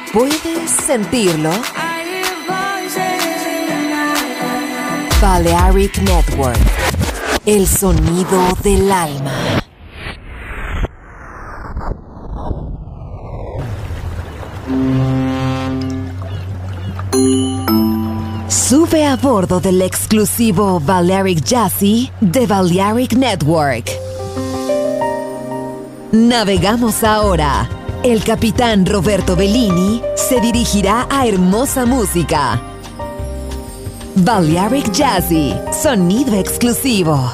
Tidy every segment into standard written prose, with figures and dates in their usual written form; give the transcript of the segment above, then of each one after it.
¿Puedes sentirlo? Balearic Network, el sonido del alma. Sube a bordo del exclusivo Balearic Jazzy de Balearic Network. Navegamos ahora. El capitán Roberto Bellini se dirigirá a hermosa música. Balearic Jazzy, sonido exclusivo.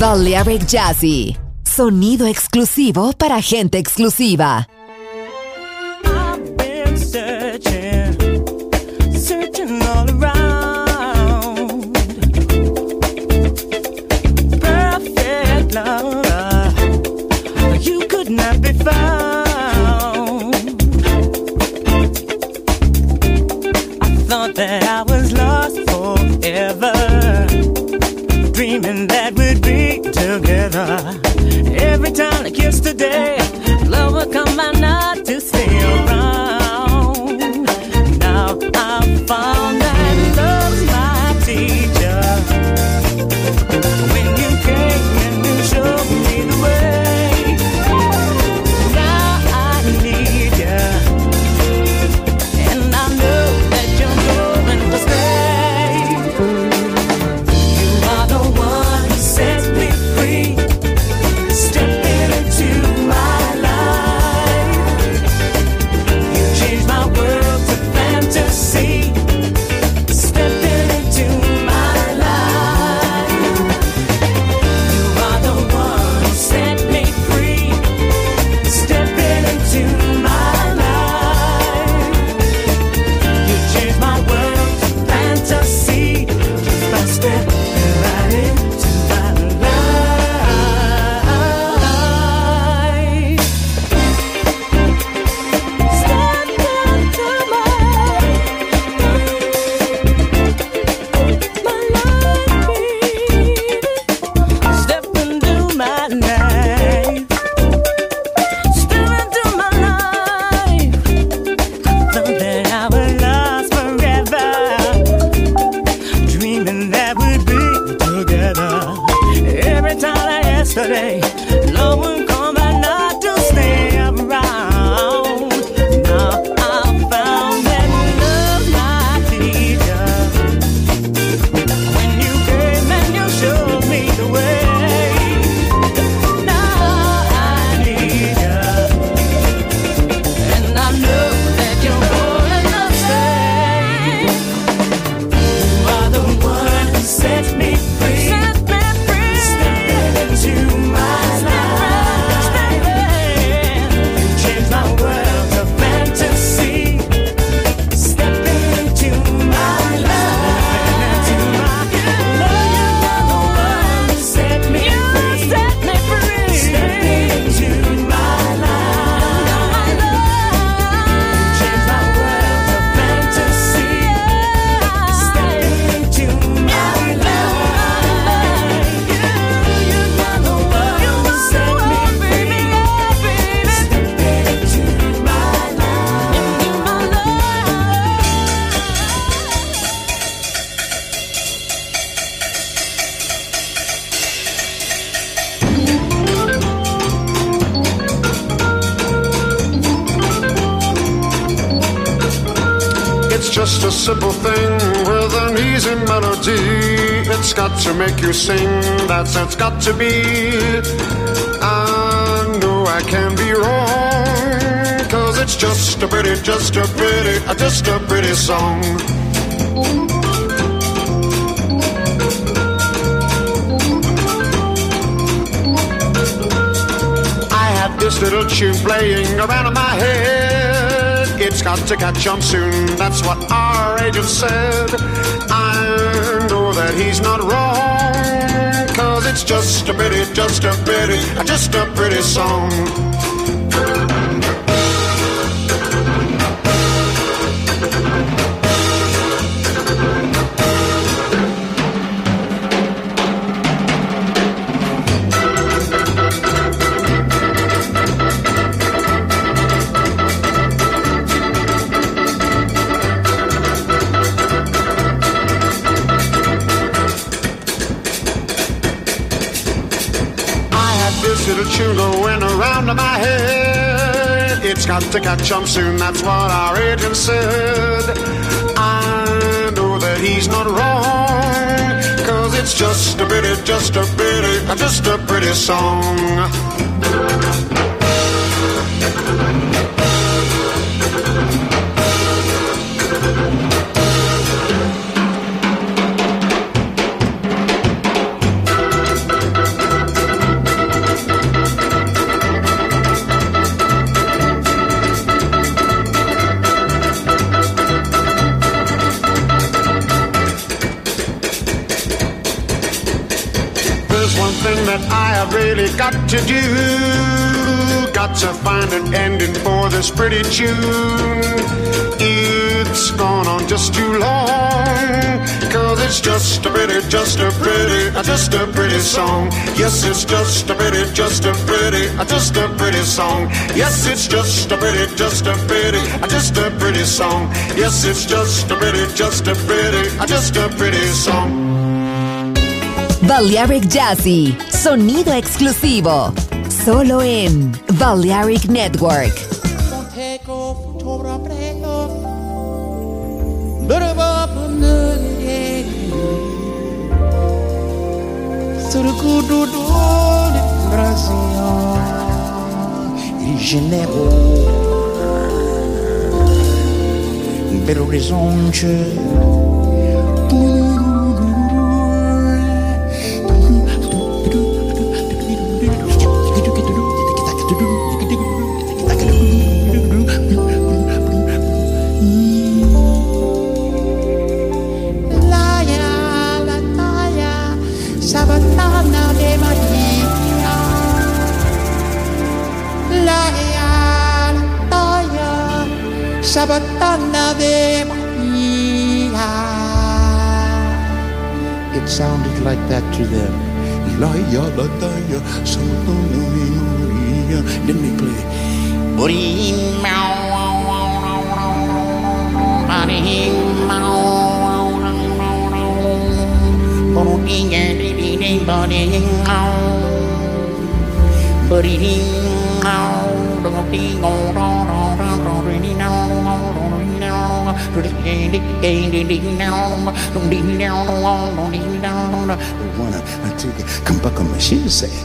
Balearic Jazzy. Sonido exclusivo para gente exclusiva. I've been searching all around. Perfect love, you could not be found. I thought that I was lost forever, dreaming that we'd be together. Every time like yesterday, love would come by not to stay around. Now I've found that love's my teacher. When you came and you showed me the way, now I need you, and I know that you're going to stay. You are the one who sets me free. Stepping into my life, you changed my world to fantasy. Stepping into my life, you are the one who set me free. Stepping into my life, you changed my world to fantasy. Just by stepping right into my life. Step into my life. Step into my life. Step into my life. Thought that I was lost forever, dreaming that we'd be together. Every time like yesterday, love would come by not to stay around. Now I found that love's my teacher. When you came and you showed me the way, now I need you, and I know that you're going to stay. You are the one who sets me free. Stepping into my life. You changed my world to fantasy. Stepping into my life. You are the one who set me free. Stepping into my life. You changed my world to fantasy. Stepping into my life. You are the one who set me free. Stepping into my life. It's just a simple thing with an easy melody. It's got to make you sing, that's it's got to be. I know I can be wrong, 'cause it's just a pretty song. I had this little tune playing around in my head. It's got to catch on soon, that's what our agent said. I know that he's not wrong, 'cause it's just a pretty song. This little tune going around in my head. It's got to catch on soon, that's what our agent said. I know that he's not wrong, 'cause it's just a pretty song. thing that I have really got to do. Got to find an ending for this pretty tune. It's gone on just too long, 'cause it's just a pretty song. Yes, it's just a pretty song. Yes, it's just a pretty song. Yes, it's just a pretty song. Balearic Jazzy, sonido exclusivo, solo en Balearic Network. Il Janeiro, Belo Horizonte. Sabatana de Maria. It sounded like that to them. La-ya, la-da-ya, Sabatana de Maria. Then they play. Come back on my shoes, say.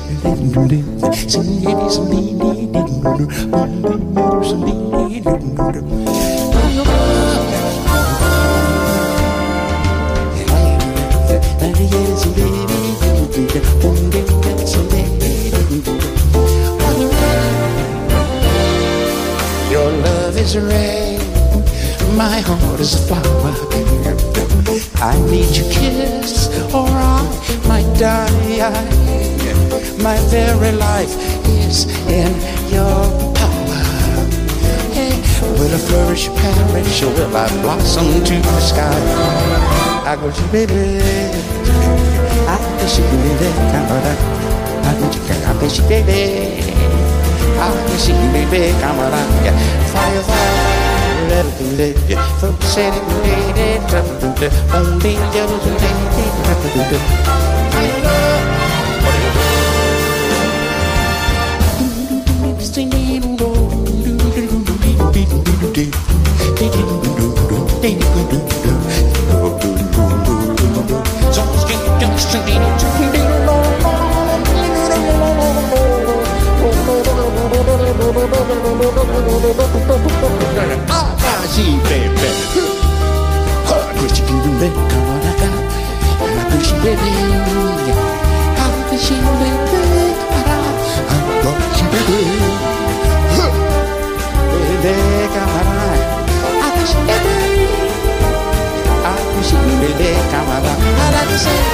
Your love is rain, my heart is a flower. I need your kiss, or I might die. My very life is in your power. Hey, will I flourish, perish, or will I blossom to the sky? I go to baby, I wish you baby, camera. I wish you baby, I wish you baby, camera. Fire, fire. From setting the only baby. I wish you could do that. I wish you baby. I wish you baby. I wish you baby. Baby, come on. I wish you baby. I wish you baby. Come on. I like to say,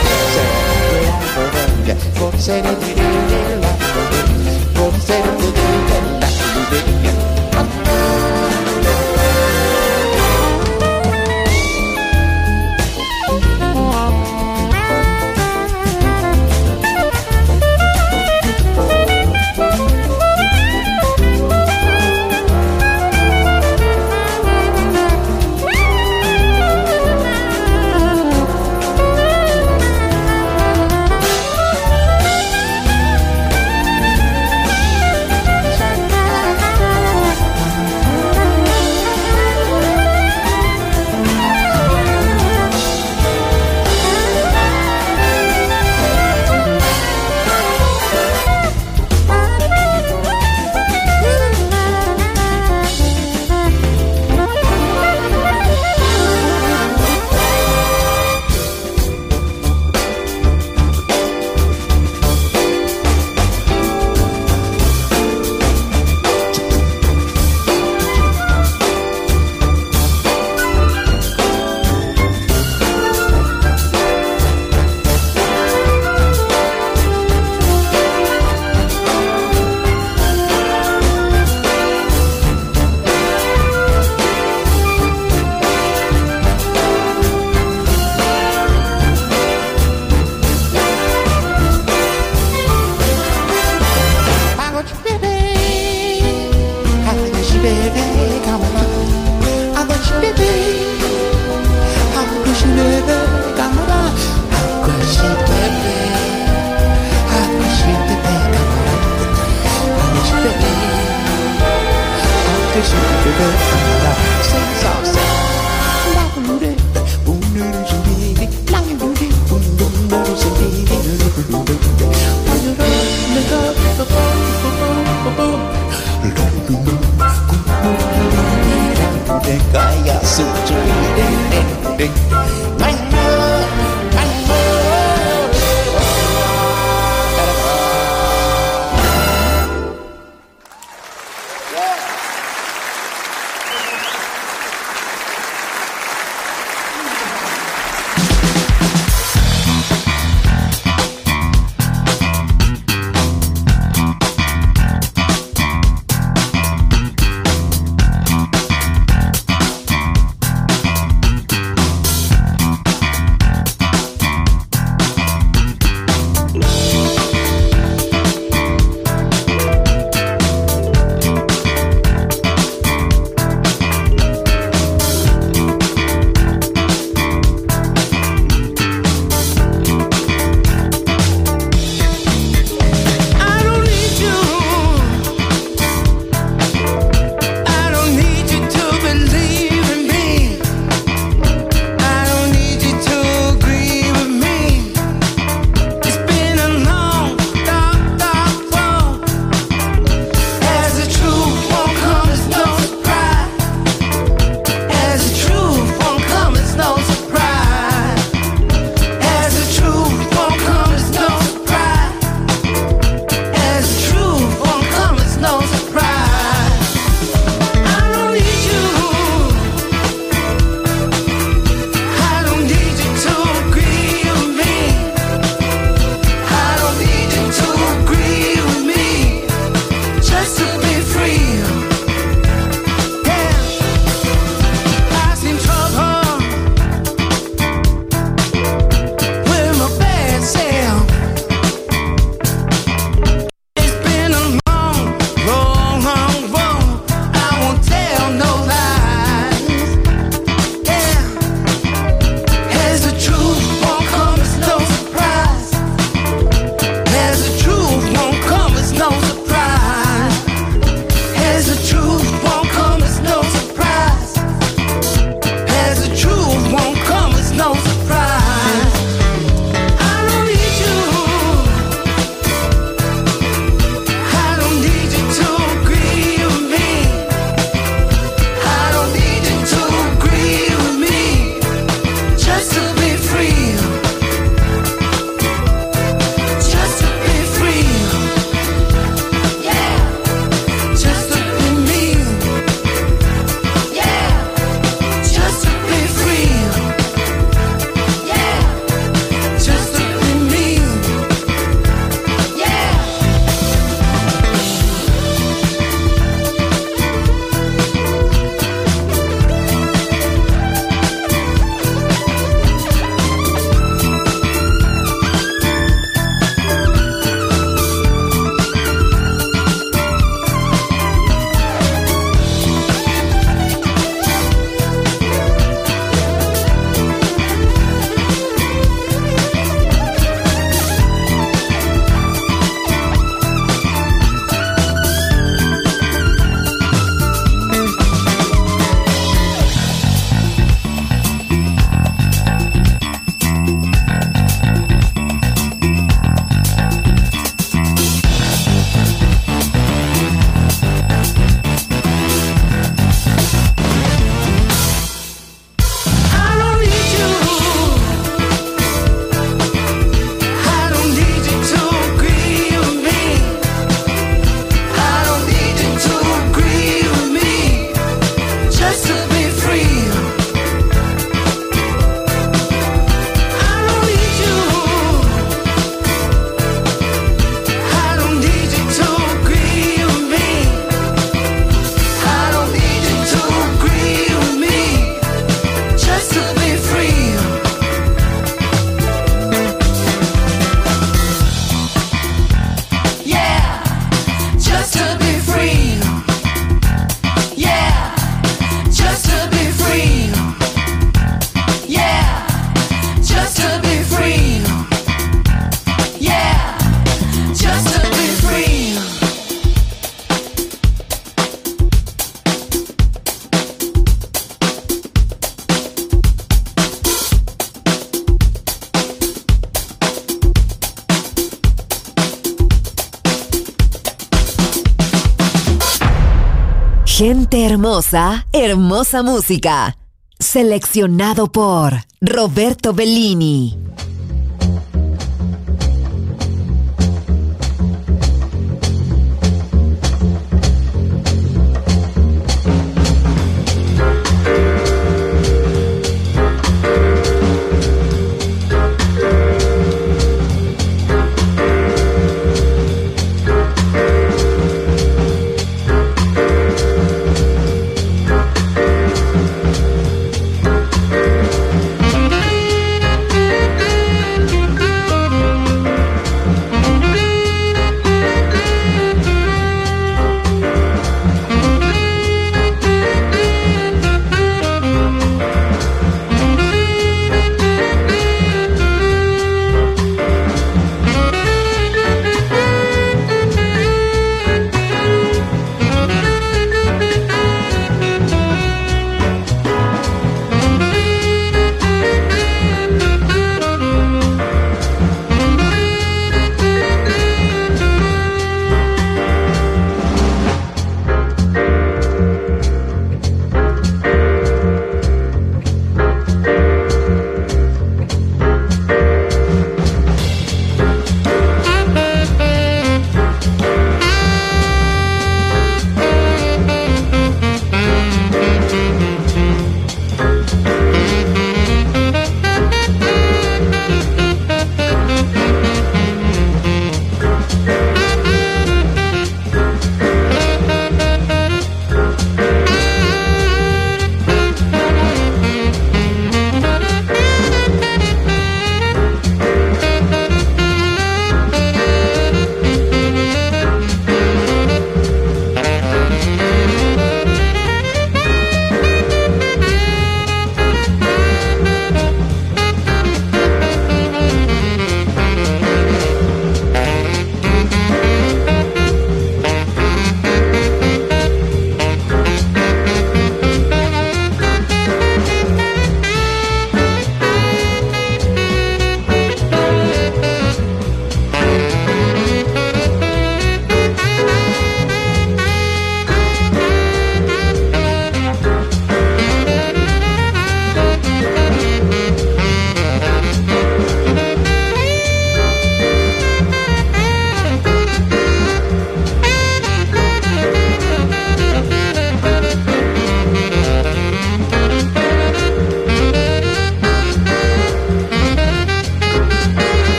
Gente hermosa, hermosa música. Seleccionado por Roberto Bellini.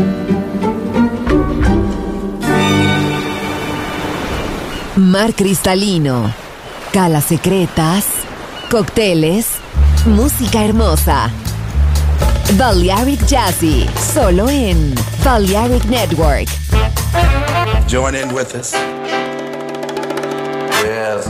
Mar cristalino, calas secretas, cócteles, música hermosa. Balearic Jazzy, solo en Balearic Network. Join in with us. Yes.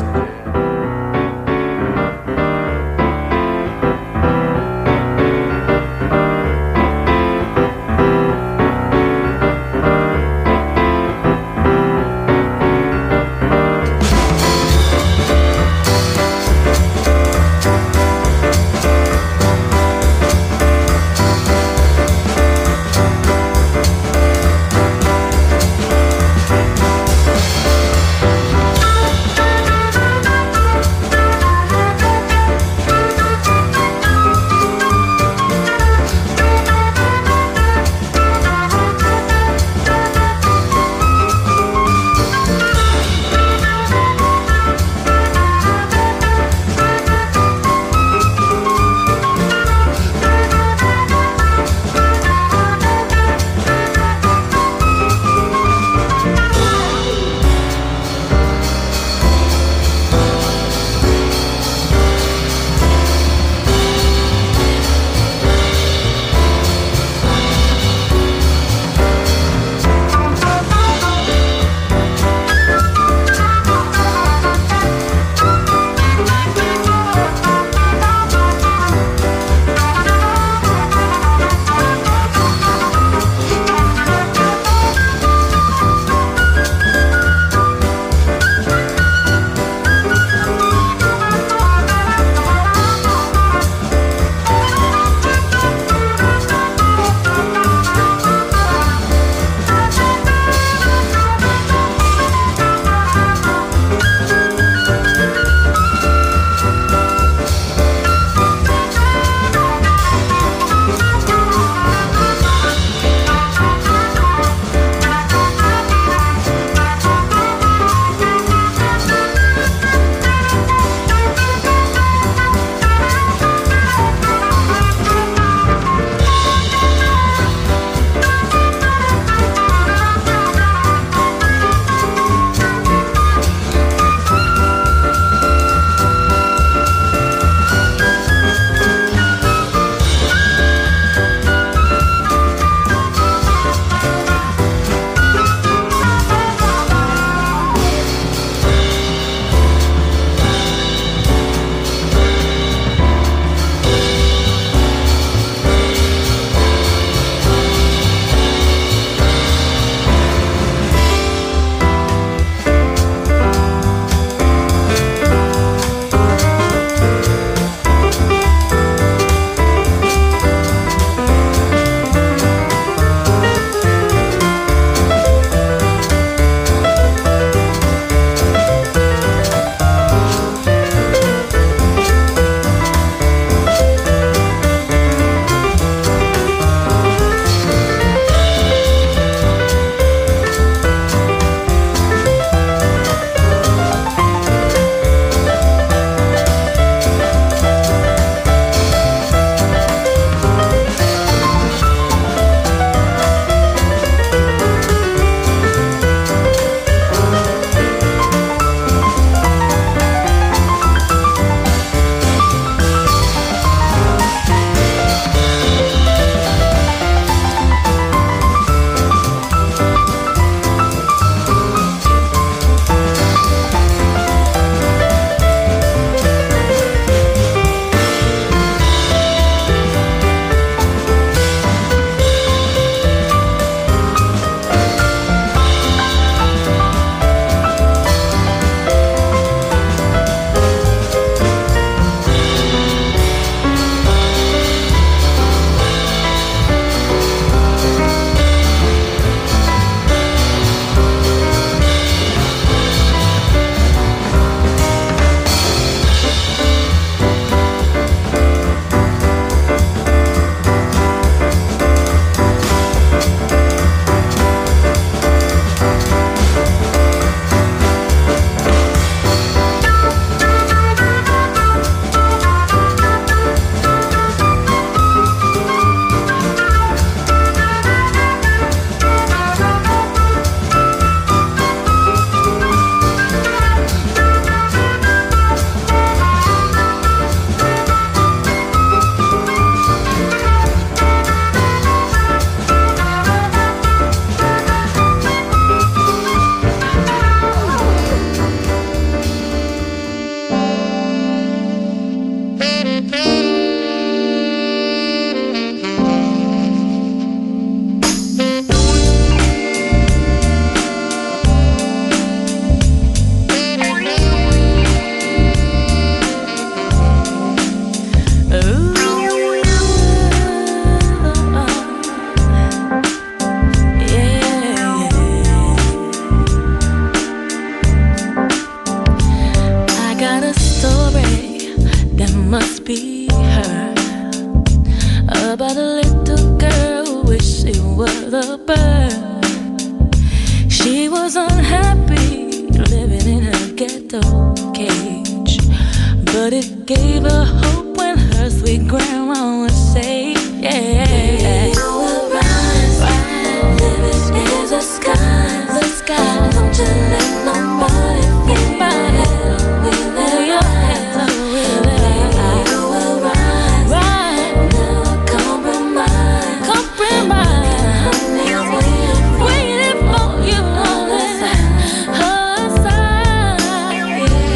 bird. She was unhappy living in her ghetto cage, but it gave her hope when her sweet grandma would say, yeah, you will rise, living in the sky, the sky. Don't you let nobody get by it. We let your head up, we let you will rise, never compromise, compromise. Waiting for you on her side,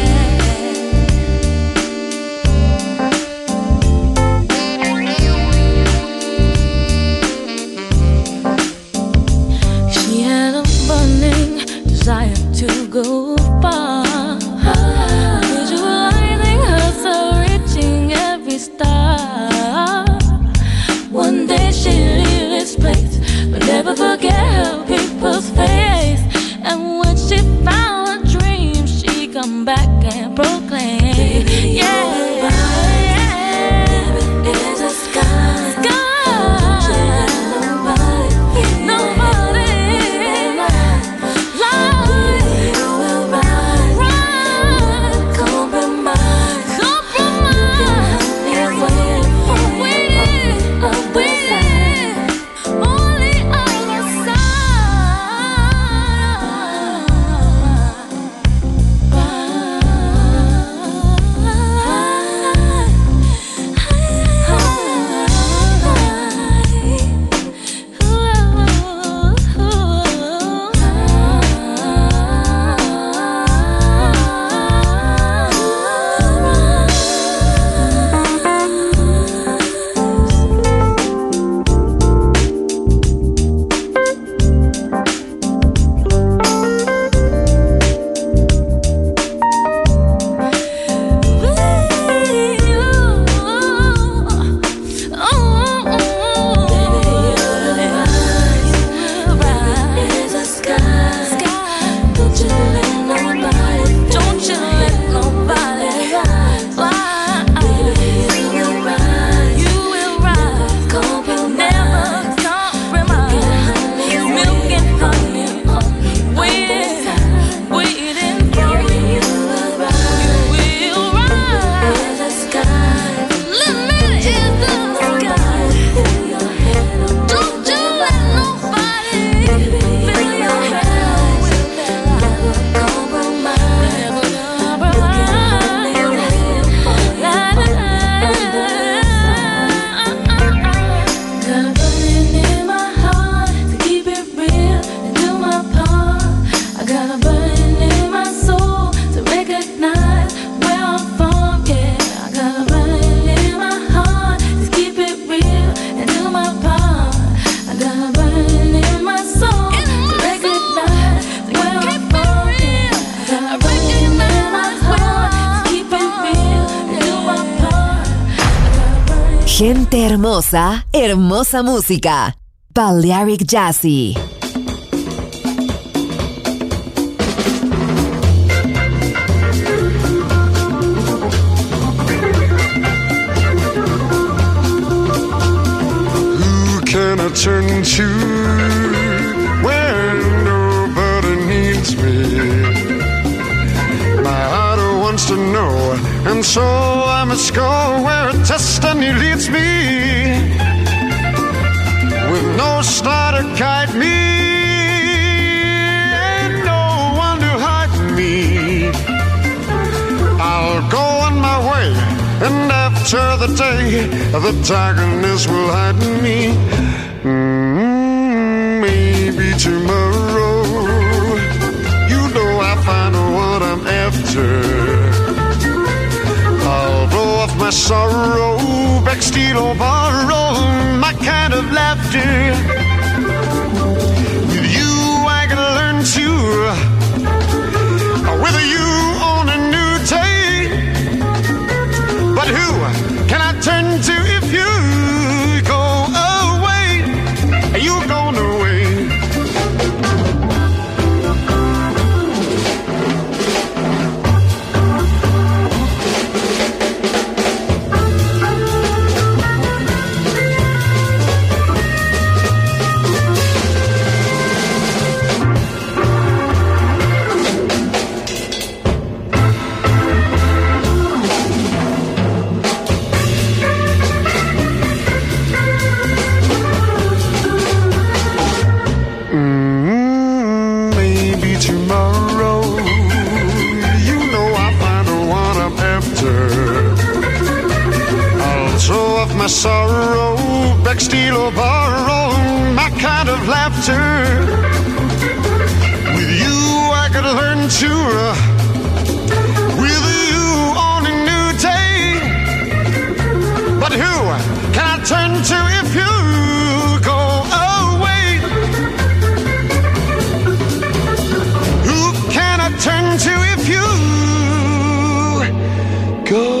She had a burning desire to go far, visualizing herself reaching every star. One day she'll leave this place, but never forget her people's face. And when she found a dream, she come back and proclaim, yeah, is a sky, sky. Nobody, lie, you will rise, compromise, compromise. Waiting, only on your Gente hermosa, hermosa música. Balearic Jazzy. Who can I turn to when nobody needs me? My heart wants to know, and so I must go where destiny leads me. With no star to guide me, and no one to hide me, I'll go on my way, and after the day, the darkness will hide me. Maybe tomorrow, you know I'll find what I'm after. I'll blow off my sorrow, beg, steal or borrow my kind of laughter. With you I can learn to with you on a new day. But who can I turn to if you go away? You've gone away. beg, steal, or borrow my kind of laughter. With you I could learn to with you on a new day. But who can I turn to if you go away? Who can I turn to if you go?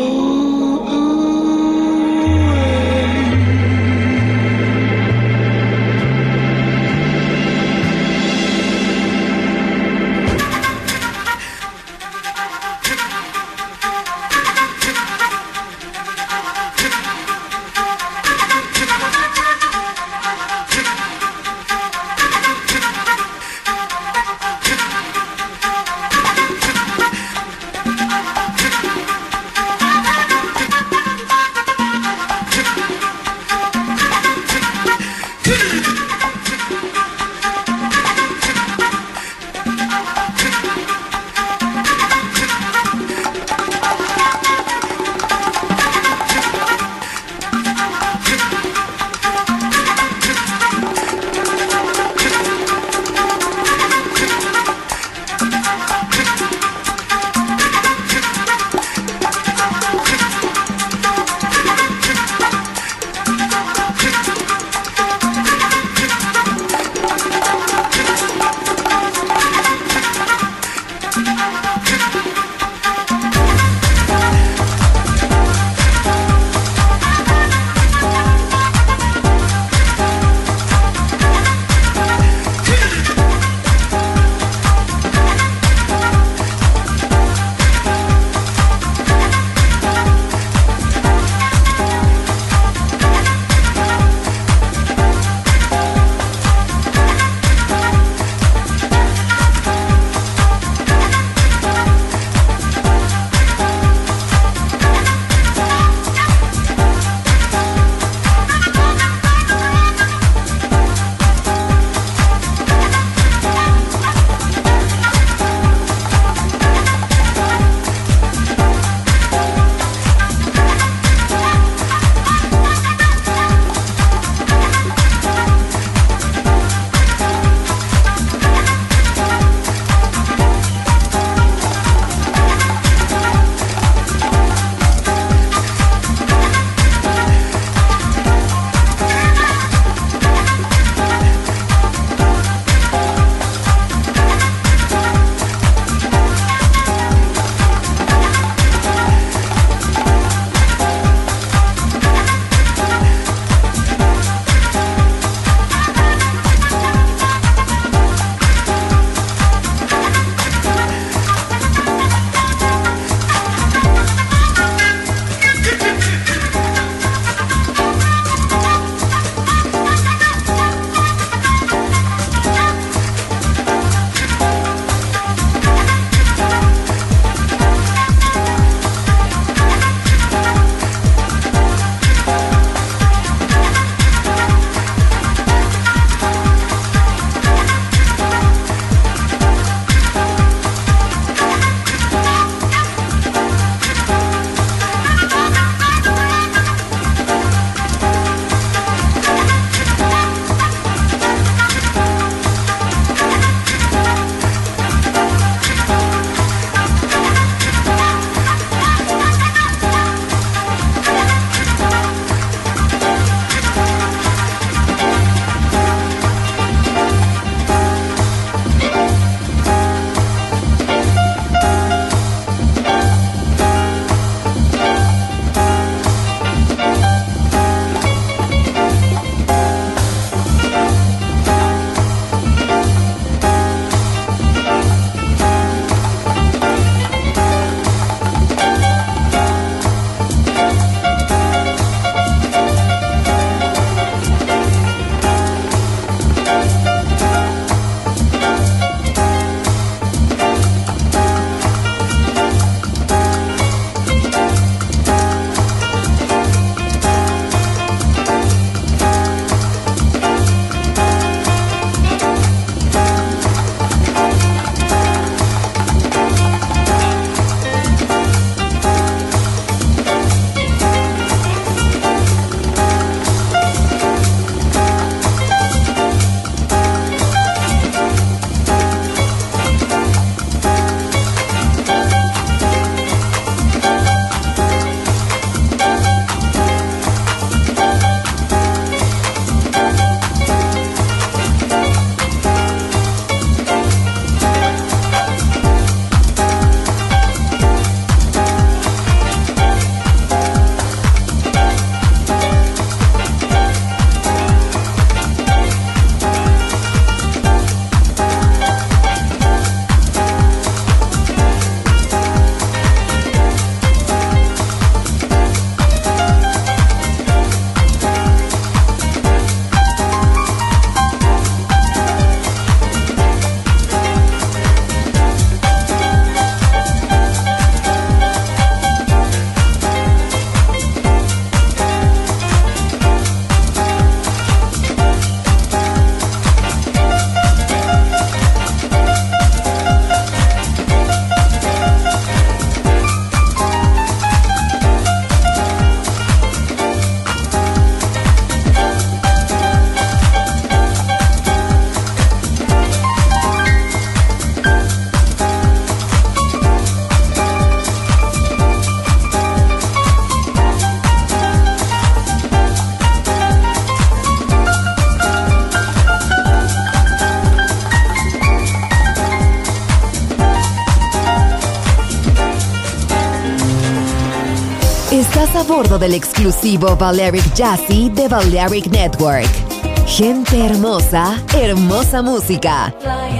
Estás a bordo del exclusivo Balearic Jazzy de Balearic Network. Gente hermosa, hermosa música.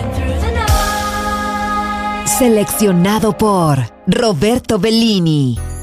Seleccionado por Roberto Bellini.